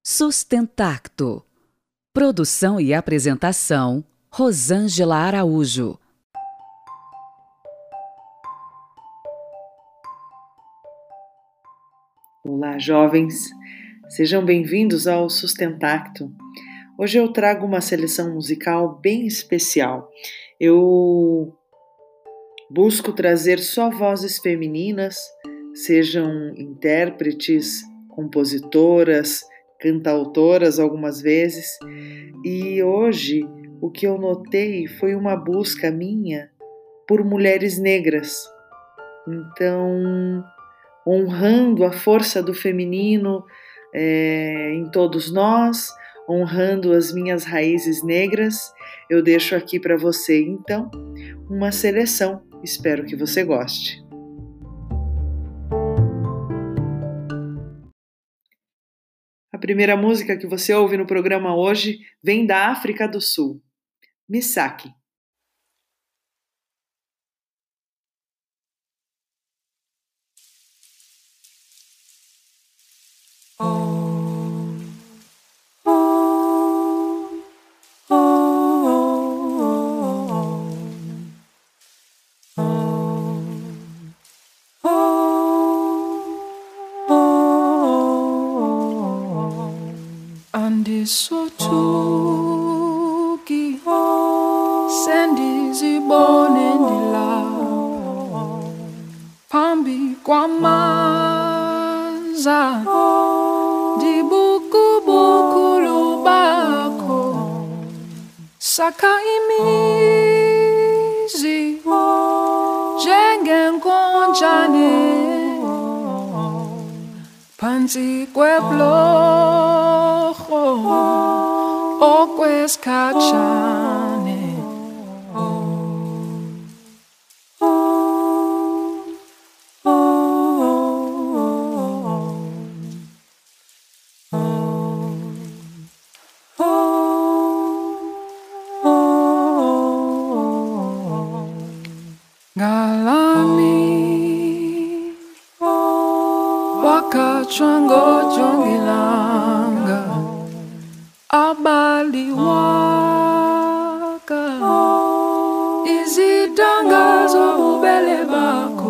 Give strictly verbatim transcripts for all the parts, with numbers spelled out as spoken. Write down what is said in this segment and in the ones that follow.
Sustentacto. Produção e apresentação, Rosângela Araújo. Olá, jovens! Sejam bem-vindos ao Sustentacto. Hoje eu trago uma seleção musical bem especial. Eu busco trazer só vozes femininas, sejam intérpretes, compositoras, cantautoras algumas vezes. E hoje o que eu notei foi uma busca minha por mulheres negras. Então, honrando a força do feminino é, em todos nós, honrando as minhas raízes negras, eu deixo aqui para você, então, uma seleção. Espero que você goste. A primeira música que você ouve no programa hoje vem da África do Sul, Misaki. Andisotuki sendizibone ndila phambi kwamaza ndibukubukhulu bakho sakha imizi njengenkonjane phansi kwebhlorho okwesikhatshane. Ngalami wakhatshwa ngojongilanga abaliwaka izidanga zobubele bakho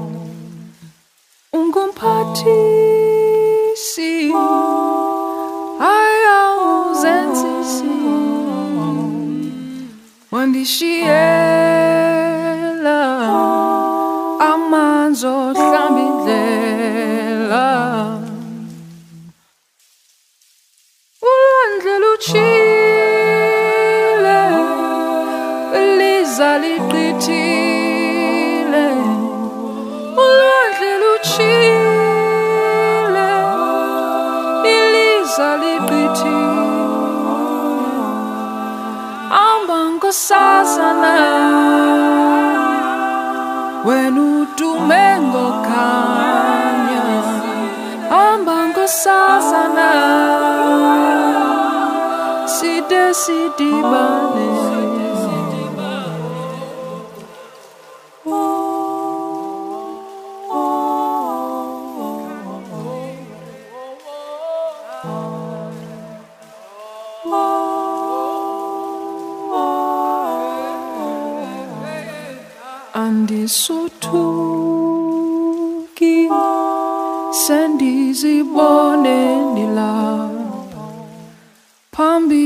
ungumphathisi ayawuzenzisi wandishiyela amanzi ohlamba indlela ulwandle lutshile iliza ligqithile ulwandle lutshile iliza ligqithile amba nkosazana wena udume ngokhanya amba nkosazana side sidibane andisothuki sendizibone ndilapha phambi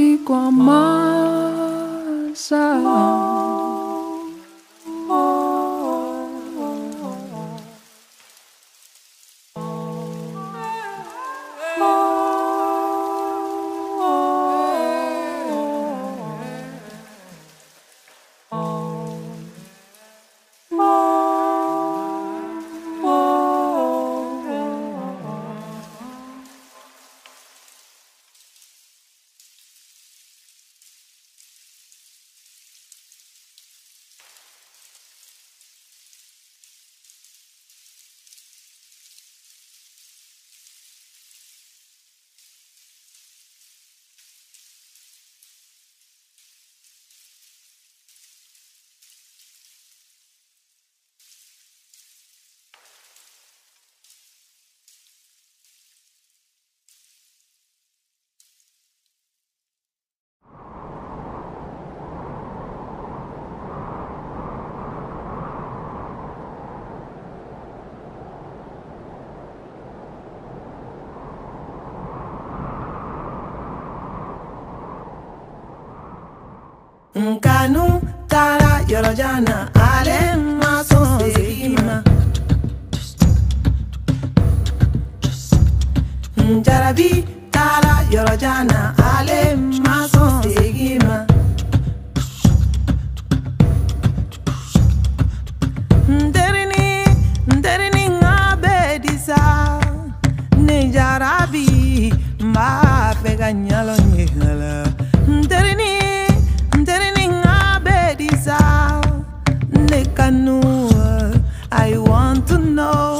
kwamaza Nkanu tara yorojana ale mason segima. Jarabi tara yorojana ale mason segima. Nderini nderini ngabe disa ne jarabi ma pega nyalo nyala. Nderini nderini ngabe disa ne kanu. I want to know.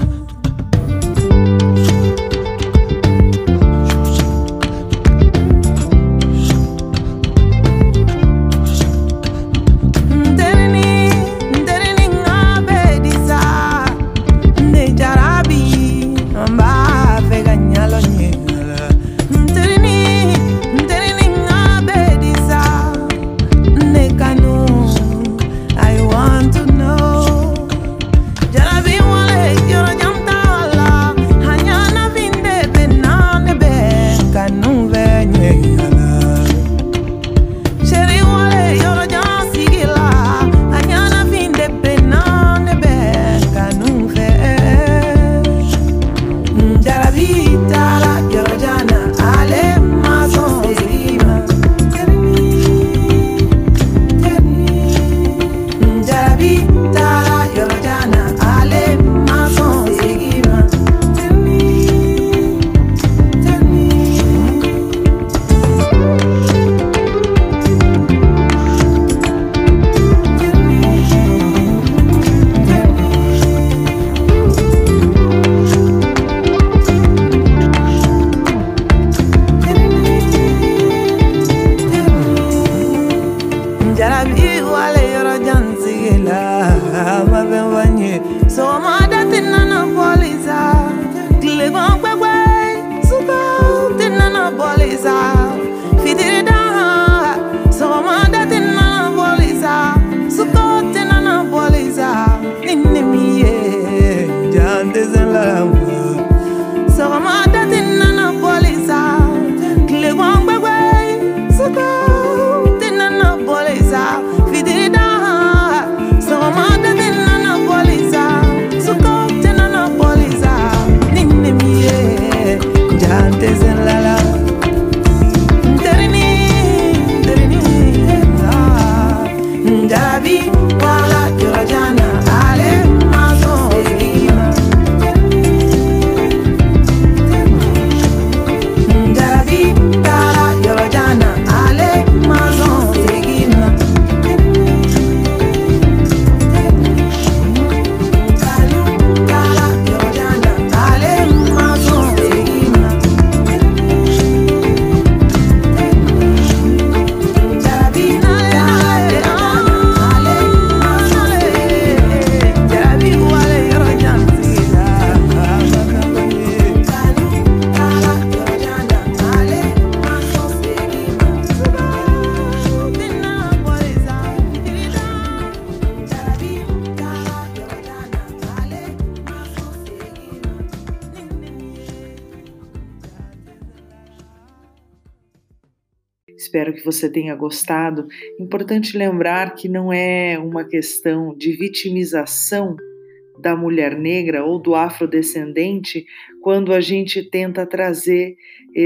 Espero que você tenha gostado. Importante lembrar que não é uma questão de vitimização da mulher negra ou do afrodescendente quando a gente tenta trazer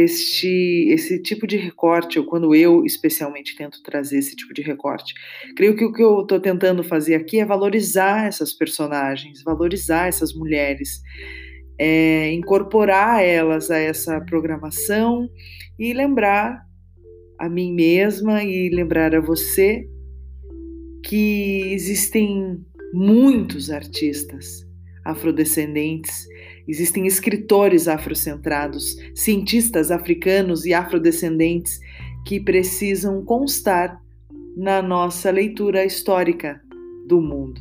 este, esse tipo de recorte, ou quando eu especialmente tento trazer esse tipo de recorte. Creio que o que eu estou tentando fazer aqui é valorizar essas personagens, valorizar essas mulheres, é, incorporar elas a essa programação e lembrar a mim mesma e lembrar a você que existem muitos artistas afrodescendentes, existem escritores afrocentrados, cientistas africanos e afrodescendentes que precisam constar na nossa leitura histórica do mundo.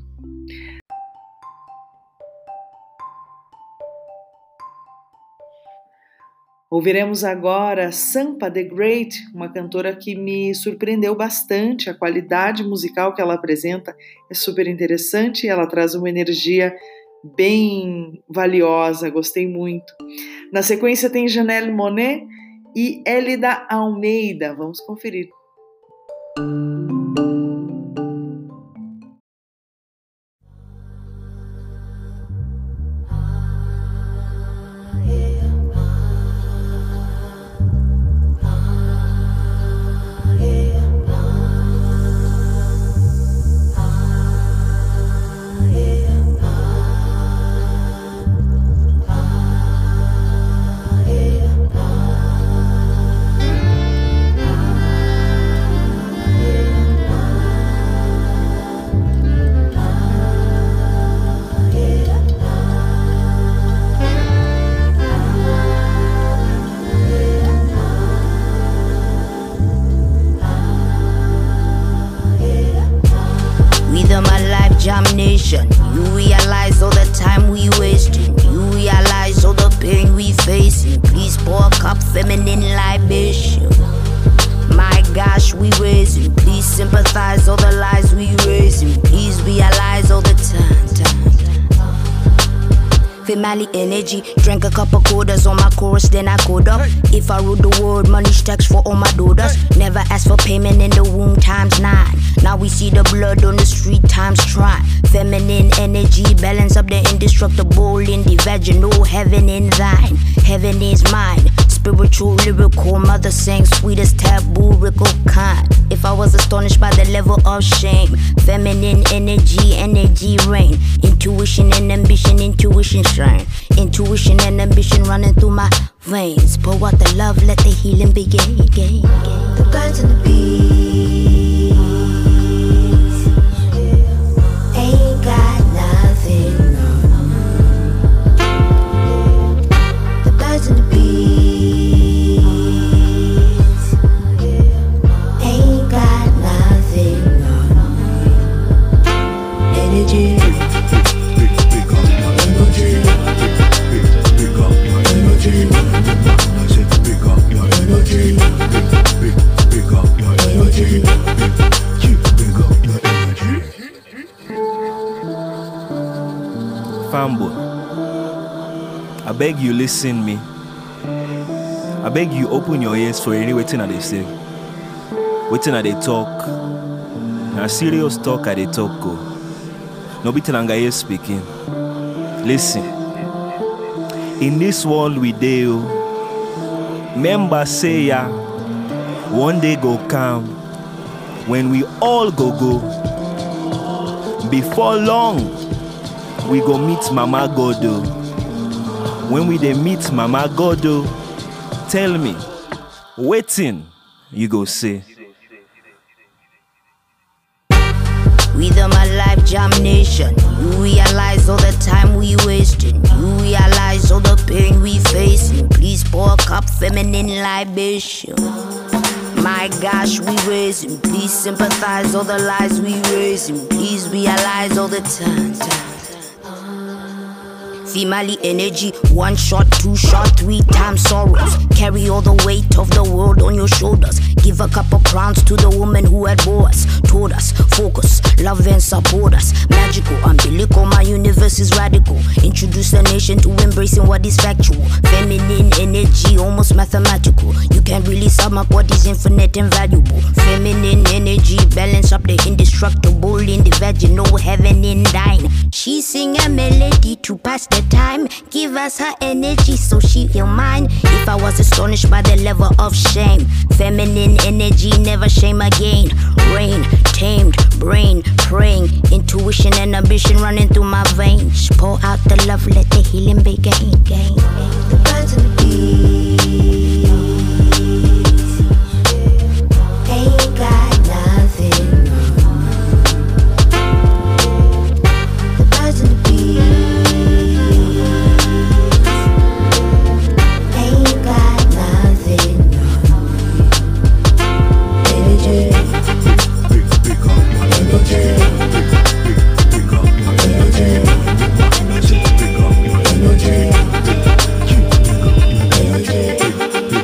Ouviremos agora Sampa the Great, uma cantora que me surpreendeu bastante. A qualidade musical que ela apresenta é super interessante e ela traz uma energia bem valiosa, gostei muito. Na sequência tem Janelle Monáe e Elida Almeida. Vamos conferir. damnation. You realize all the time we wasting. You realize all the pain we facing. Please pour a cup, feminine libation. My gosh, we raising. Please sympathize all the lies we raising. Please realize all the time, time. Family energy, drank a couple quarters on my chorus, then I code up. If I rule the world, money stacks for all my daughters. Never asked for payment in the womb times nine. Now we see the blood on the street times trying. Feminine energy, balance up the indestructible in the vaginal. Heaven in thine, heaven is mine. Spiritual, lyrical, mother sang sweetest taboo, rickle kind. If I was astonished by the level of shame, feminine energy, energy reign. Intuition and ambition, intuition shine. Intuition and ambition running through my veins. Pour out the love, let the healing begin. Again, again. The birds and the bees ain't got nothing. The birds and the bees ain't got nothing. Energy. Fambo, I beg you listen me. I beg you open your ears for any waiting that they say. Waiting that they talk. Now serious talk at they talk go. No be telanga speaking. Listen. In this world we deal. Members say ya, one day go come when we all go go. Before long, we go meet Mama Godo. When we dey meet Mama Godo, tell me, waiting, you go say. With my life damnation, you realize all the time we wasting. You realize all the pain we facing. Please pour a cup, feminine libation. My gosh, we raising. Please sympathize all the lies we raising. Please realize all the time, time. Female energy, one shot, two shot, three times sorrows. Carry all the weight of the world on your shoulders. Give a couple crowns to the woman who had bore us. Told us, focus, love and support us. Magical, umbilical, my universe is radical. Introduce the nation to embracing what is factual. Feminine energy, almost mathematical. You can't really sum up what is infinite and valuable. Feminine energy, balance up the indestructible in the vaginal, heaven in thine. She sing a melody to pass the time. Give us her energy so she heal mine. If I was astonished by the level of shame, feminine energy, never shame again. Rain, tamed, brain, praying. Intuition and ambition running through my veins. Pour out the love, let the healing begin. Gain, gain. The birds and the bees ain't got nothing. The birds and the bees ain't got nothing. Energy. Energy. Energy.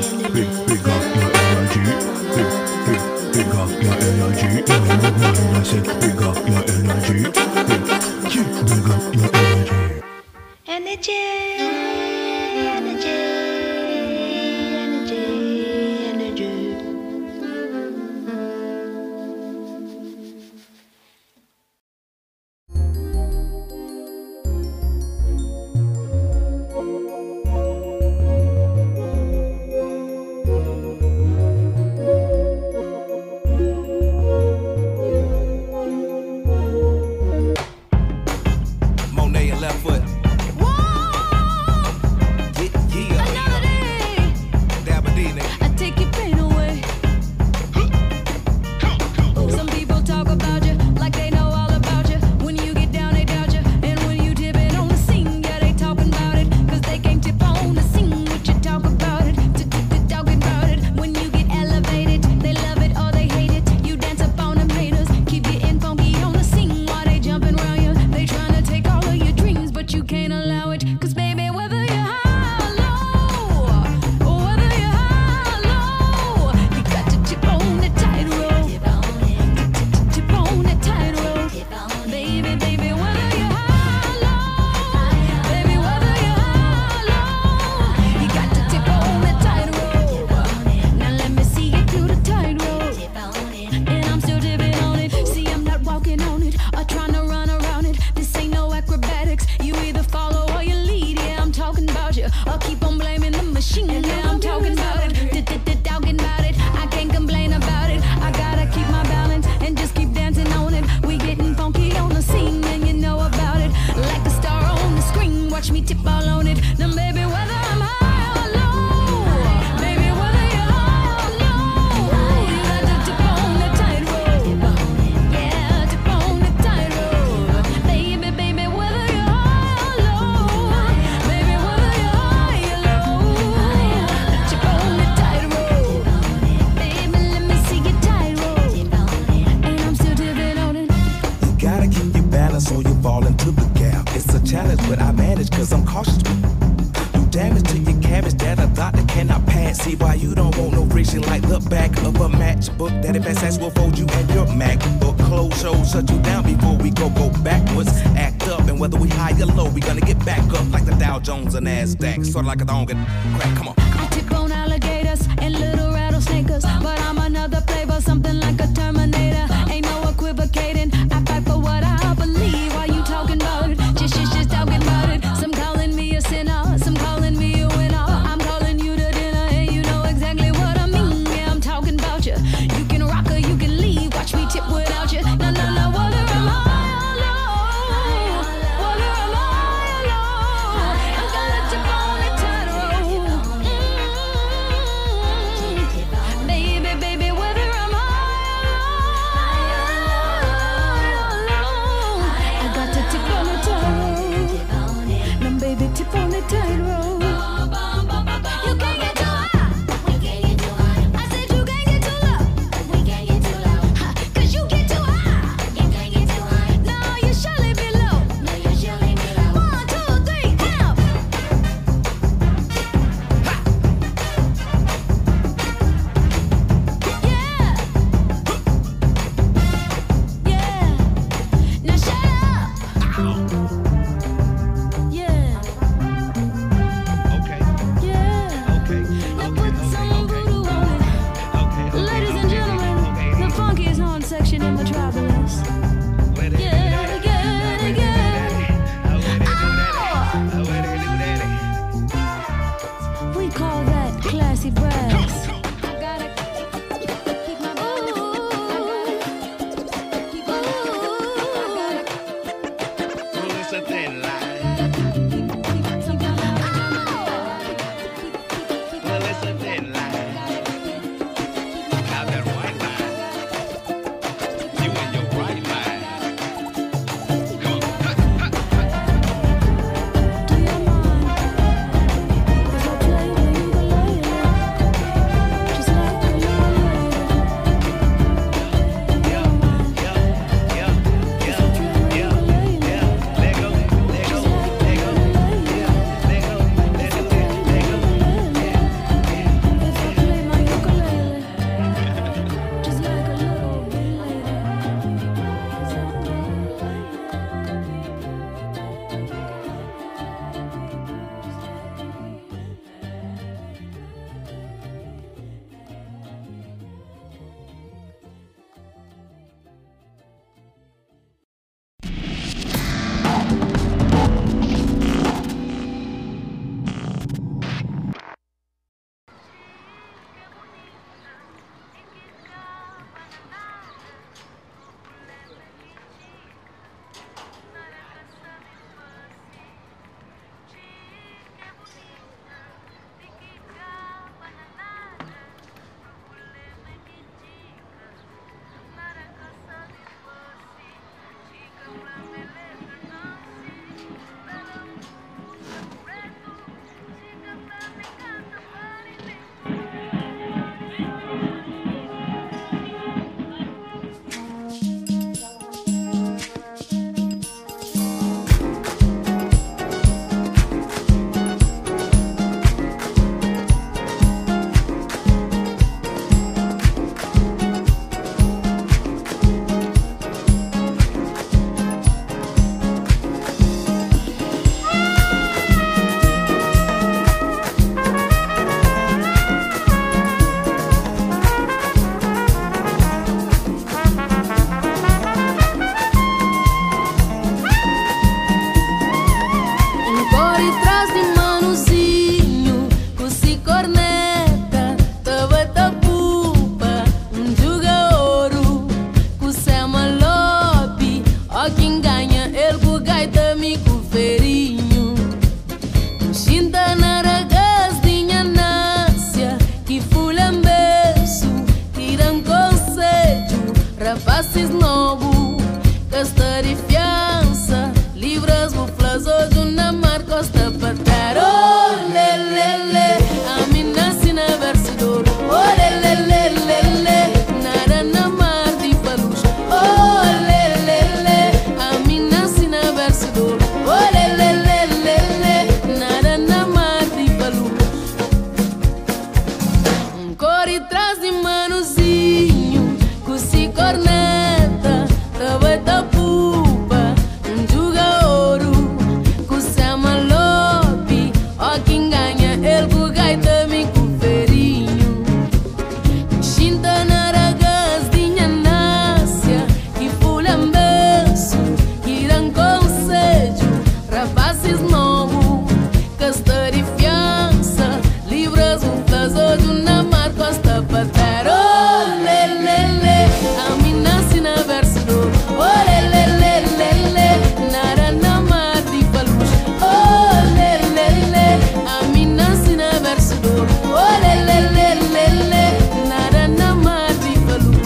why you don't want no friction like the back of a matchbook. That if S S will fold you and your MacBook. Close shows shut you down before we go go backwards. Act up, and whether we high or low, we gonna get back up like the Dow Jones or NASDAQ. Sort of like a thong and crack. Come on. I tip on alligators and little rattlesnakers, but I'm another flavor, something like a Terminator. Ain't no equivocating. I fight for what I believe. Why you talking about it? Just, just, just talking about it. Some calling me a sinner, some calling me a winner. I'm calling you to dinner, and you know exactly what I mean. Yeah, I'm talking about you. You can rock or you can leave. Watch me tip without you. No, no, no. What am I? Tip on the tightrope. You can't get too high. We can't get too high. I said you can't get too low. We can't get too low. Cause you get too high. You can't get too high. No, you surely be low. No, you surely be low. One, two, three, help. Yeah. Yeah. Now shut up. Yeah. Section in Metropolis. Yeah, yeah, yeah. Oh! We call that classy brass. I gotta keep my ooh. Well, it's a thin line. Well, it's a thin line. Have that white line. Rapazes novo, casta de fiança, livras buflas hoje na mar costa patar. Oh, le, le, le, a mina sina versidor. Oh, le, le, le, le, le, nada na mar de paluz. Oh, le, le, le, a mina sina versidor. Oh, le, le, le, le, le, nada na mar de paluz. tambor e traz de manuzinho, cussi corneta, tabata pupa, um juga ouro, cussama lopi, ó quem ganha, ele bugai também com ferinho. Chinta naragas dinha nácia, que fulambenço, que irão conselho, rapazes novo, castor e fiança, livras um plazo de uma marca costa patero. Oh, le, le, le, a mim nasce na verso do. Oh, le, le, le, le, le, nara na mati falus. Oh, le, le, le, a mim nasce na verso do. Oh, le, le, le, le, le, nara na mati falus.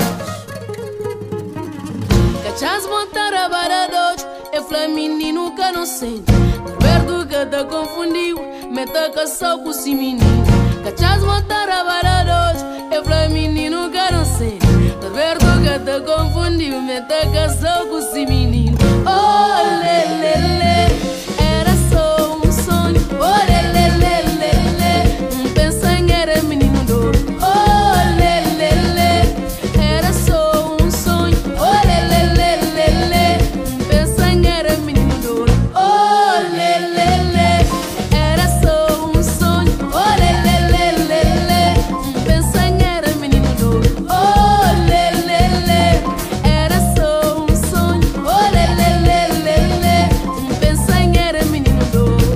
Cachas montar a baradote, é fla menino que não sente. Verdo que tá confundiu, meta caçal com si menino. Cachas montar a baradote, é fla menino que não sente. Verdo que tá confundiu, meta caçal com si menino. Oh, le, le, le, era só um sonho. Oh, le, le, le, le, le, um pensar era menino doido. Oh, le, le, le, era só um sonho. Oh, le, le, le, le, le, um pensar era menino doido. Oh, le, le, le, era só um sonho. Oh, le, le, le, le, le, um pensar era menino doido. Oh, le, le, le, era só um sonho. Oh, le, le, le, le, le, um pensar era menino doido.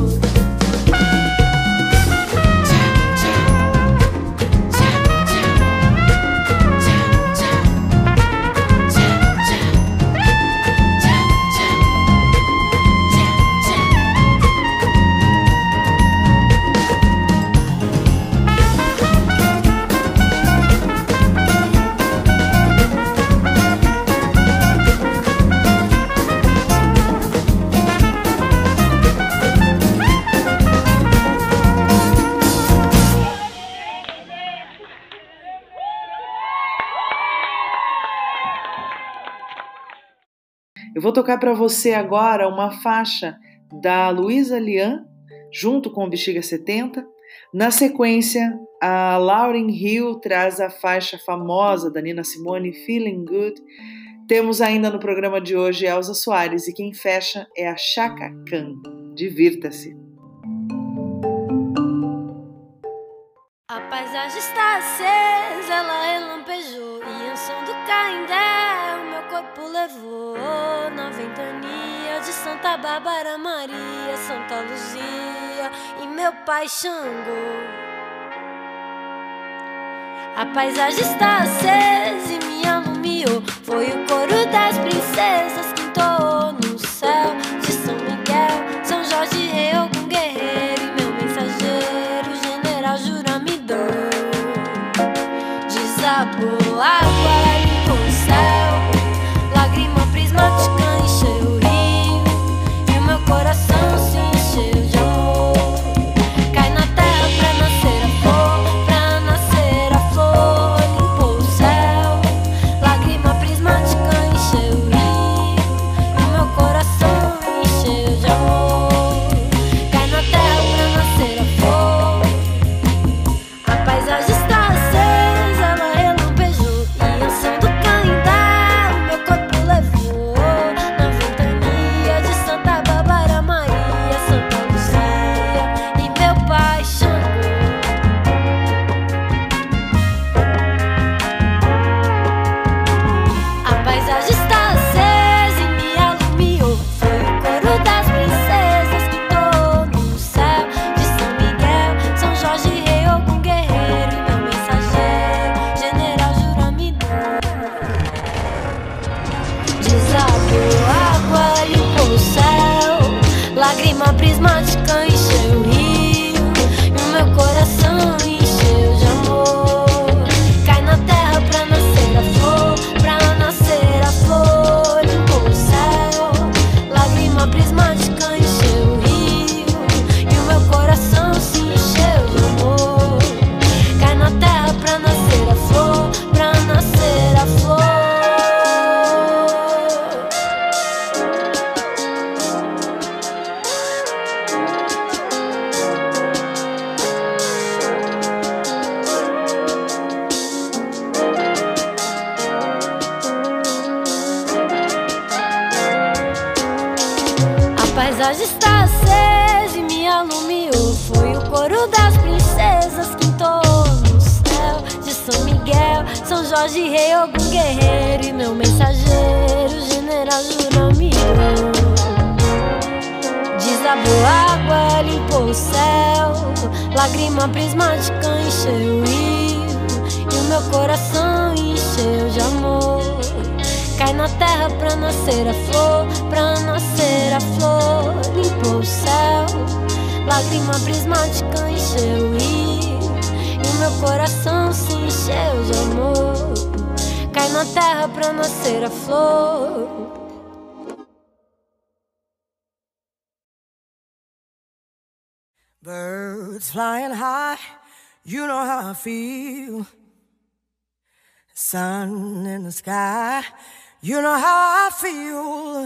Eu vou tocar para você agora uma faixa da Luísa Lian, junto com o Bexiga setenta. Na sequência, a Lauryn Hill traz a faixa famosa da Nina Simone, Feeling Good. Temos ainda no programa de hoje Elza Soares e quem fecha é a Chaka Khan. Divirta-se! A paisagem está acesa, ela relampejou e o som do Canindé o meu corpo levou na ventania de Santa Bárbara Maria, Santa Luzia e meu pai Xangô. A paisagem está acesa e me alumiou, foi o coro das princesas que entoou no céu de São Miguel, São Jorge, rei Ogum guerreiro e meu mensageiro, general Juramidor. Desabou água, limpou o céu, lágrima prismática encheu o rio e o meu coração se encheu de amor. Cai na terra pra nascer a flor, pra nascer a flor, limpou o céu, lágrima prismática encheu o rio e o meu coração encheu de amor. Cai na terra pra nascer a flor. A paisagem está acesa, ela relampejou paisagem está acesa e me alumiou. Foi o coro das princesas que entoou no céu de São Miguel, São Jorge, rei Ogum guerreiro, e meu mensageiro, general Juramiro. Desabou água, limpou o céu, lágrima prismática encheu o rio, e o meu coração encheu de amor. Cai na terra pra nascer a flor, pra nascer a flor. Limpou o céu, lágrima prismática encheu o rio, e o meu coração se encheu de amor. Cai na terra pra nascer a flor. Birds flying high, you know how I feel. Sun in the sky, you know how I feel.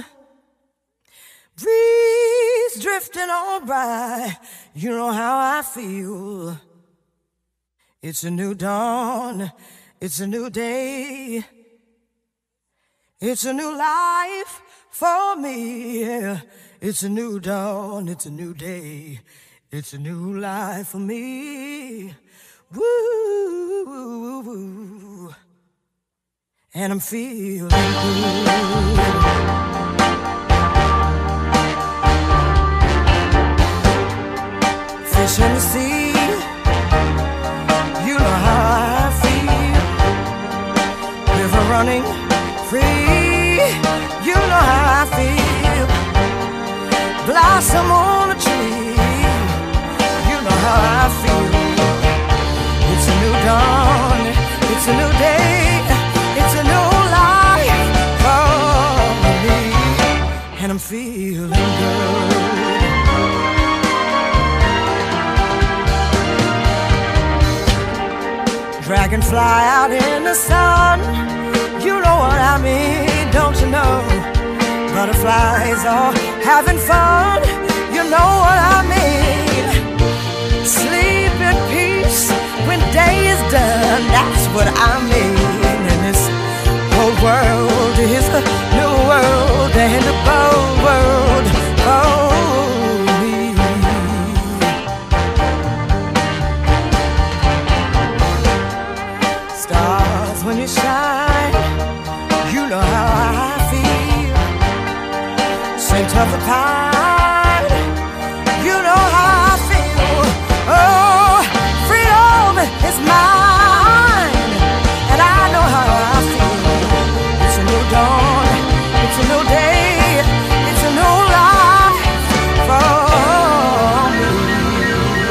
Breeze drifting on by, you know how I feel. It's a new dawn, it's a new day. It's a new life for me. It's a new dawn, it's a new day. It's a new life for me. Woo, woo, woo. And I'm feeling good. Fish in the sea, you know how I feel. River running free, you know how I feel. Blossom on a tree, you know how I feel. It's a new dawn, it's a new day, it's a new life for me, and I'm feeling good. Dragonfly out in the sun, you know what I mean, don't you know? Butterflies are having fun, you know what I mean. Sleep in peace when day is done, that's what I mean. And this whole world is a new world, and a bold world for me. Stars when you shine, you know how I feel. Scent of the pine, you know how I feel. Oh, freedom is mine, and I know how I feel. It's a new dawn, it's a new day, it's a new life for me.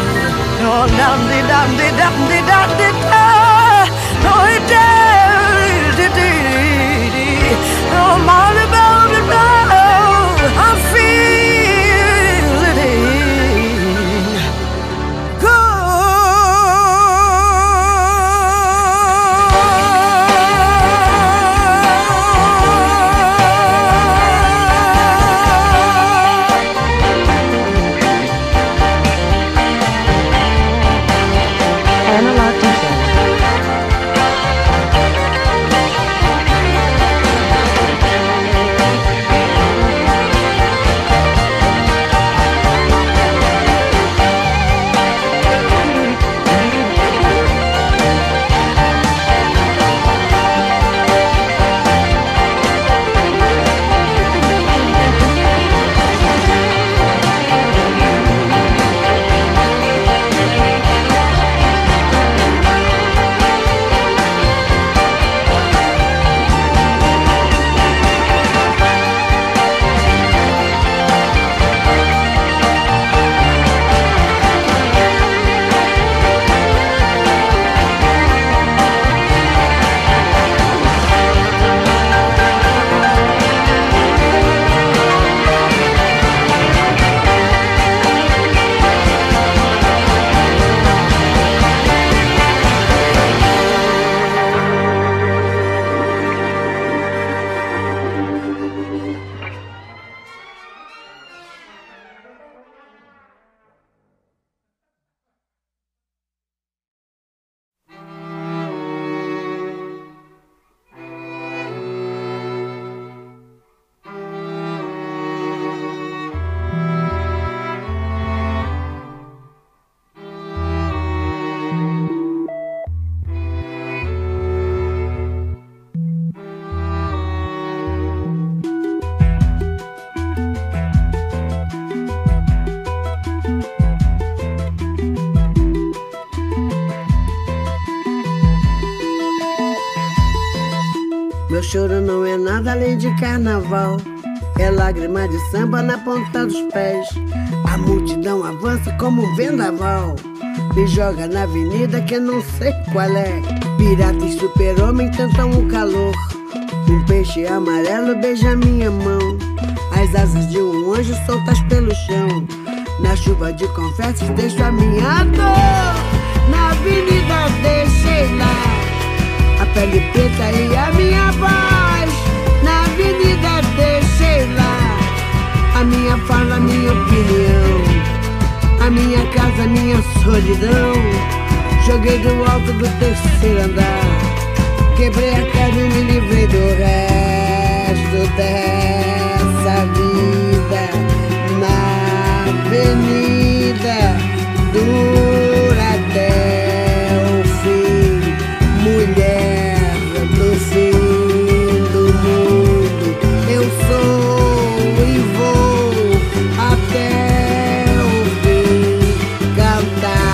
No, dum de dum de dum de dum de da, no, it does. Meu choro não é nada além de carnaval. É lágrima de samba na ponta dos pés. A multidão avança como um vendaval. Me joga na avenida que eu não sei qual é. Pirata e super-homem tentam o calor. Um peixe amarelo beija minha mão. As asas de um anjo soltas pelo chão. Na chuva de confetes deixo a minha dor. Na avenida deixei lá a pele preta e a minha voz. Na avenida deixei lá a minha fala, a minha opinião, a minha casa, a minha solidão. Joguei do alto do terceiro andar. Quebrei a cara e me livrei do resto dessa vida. Na avenida dura até o fim. Mulher do fim do mundo, eu sou e vou até o fim cantar.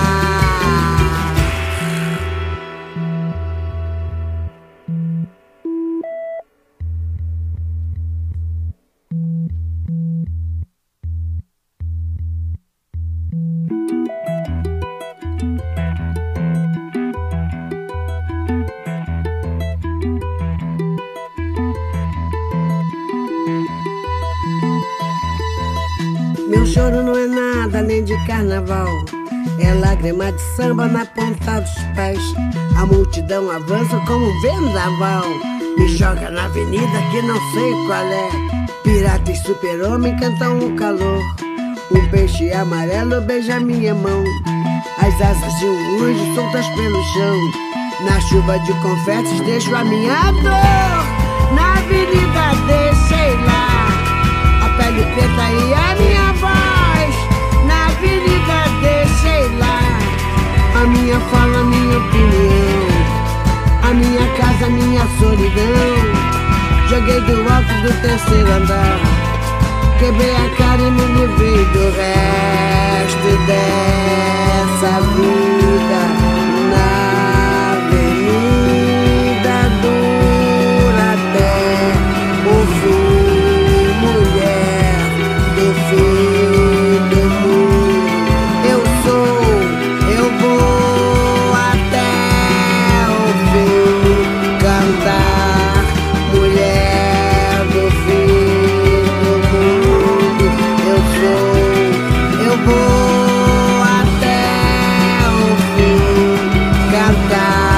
Meu choro não é nada além de carnaval. É lágrima de samba na ponta dos pés. A multidão avança como um vendaval. Me joga na avenida que não sei qual é. Pirata e super-homem cantam o calor. Um peixe amarelo beija minha mão. As asas de um anjo soltas pelo chão. Na chuva de confetes deixo a minha dor. Na avenida deixei lá a pele preta e a minha voz. Na avenida deixei lá a minha fala, a minha opinião, a minha casa, a minha solidão. Joguei do alto do terceiro andar. Quebrei a cara e me livrei do resto dessa vida. Na avenida dura até o fim. Mulher do fim do mundo, eu sou, eu vou até o fim cantar. Mulher do fim do mundo, eu sou, eu vou até o fim cantar.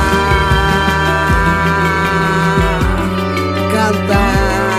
Cantar.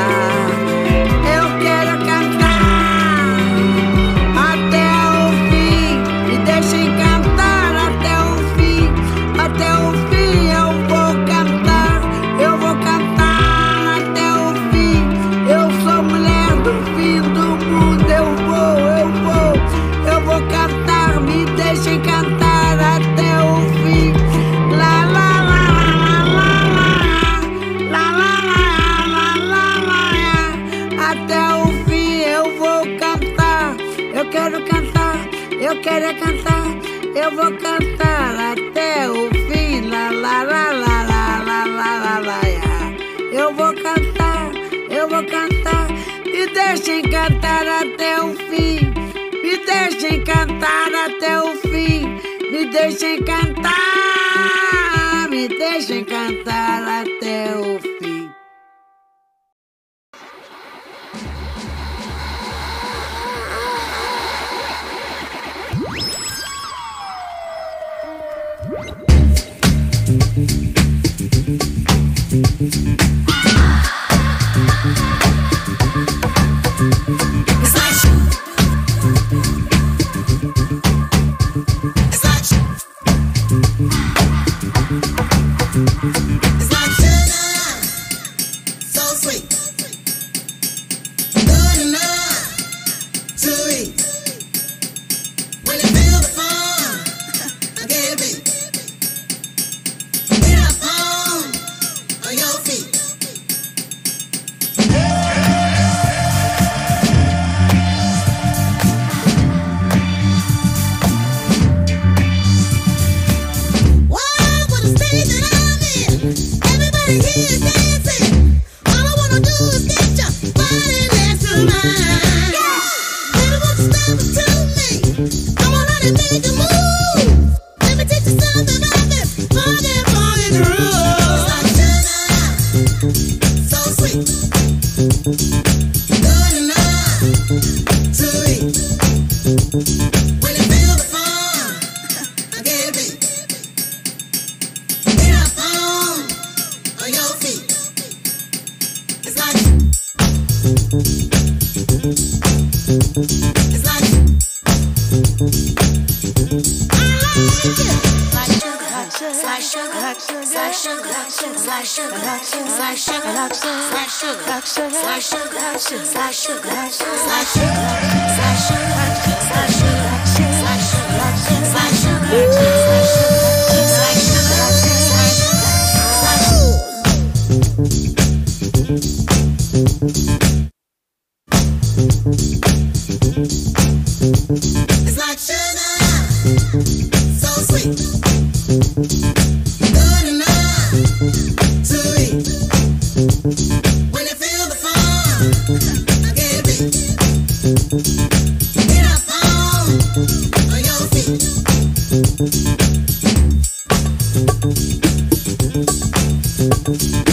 Eu quero cantar até o fim. Me deixem cantar até o fim. Até o fim eu vou cantar. Eu vou cantar até o fim. Eu sou mulher do fim do mundo. Eu vou, eu vou, eu vou cantar. Me deixem cantar até o fim. Lá, lá, lá, lá, lá, lá, lá, lá, lá, lá. Até o fim eu vou cantar. Eu quero cantar, eu quero é cantar. Eu vou cantar até o fim. Lá, lá, lá, lá, lá, lá, lá, lá, lá. Eu vou cantar, eu vou cantar. Me deixem cantar até o fim. Me deixem cantar até o fim. Me deixem cantar. Me deixem cantar até o fim. Why would I say that I'm in? It's like sugar, so sweet, good enough to eat. When you feel the fun, I can't beat. Get up on your feet. Thank you.